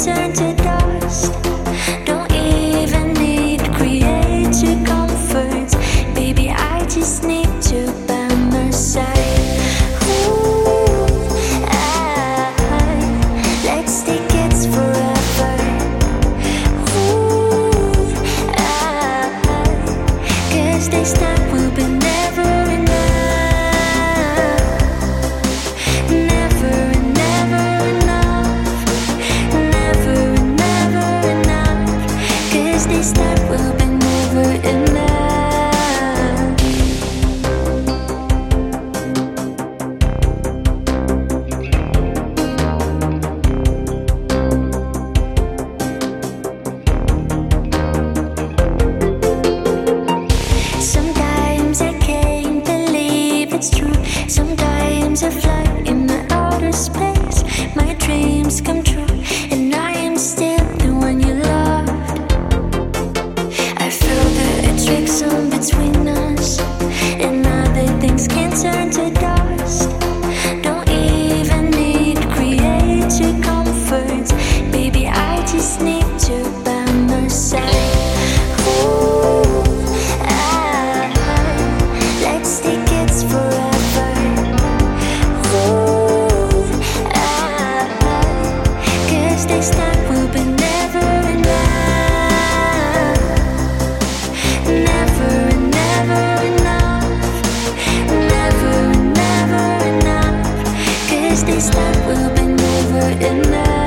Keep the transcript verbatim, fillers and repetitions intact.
turn to dust. Don't even need creative comforts. Baby, I just need you by my side. Ooh, I, let's take it forever. Ooh, I, cause this time will be never enough. Never, never enough. Never, never enough. Cause this time will be never enough. Sometimes I can't believe it's true. Sometimes I fly in the outer space. My dreams come true, and I am still the one you loved. I feel the attraction between us, and other things can turn to dust. Don't even need creative comforts. Baby, I just need you by my side. Ooh, I, let's take it forever. Ooh, I, cause this time will be never enough. Never, never enough. Never, never enough. Cause this time will be never enough.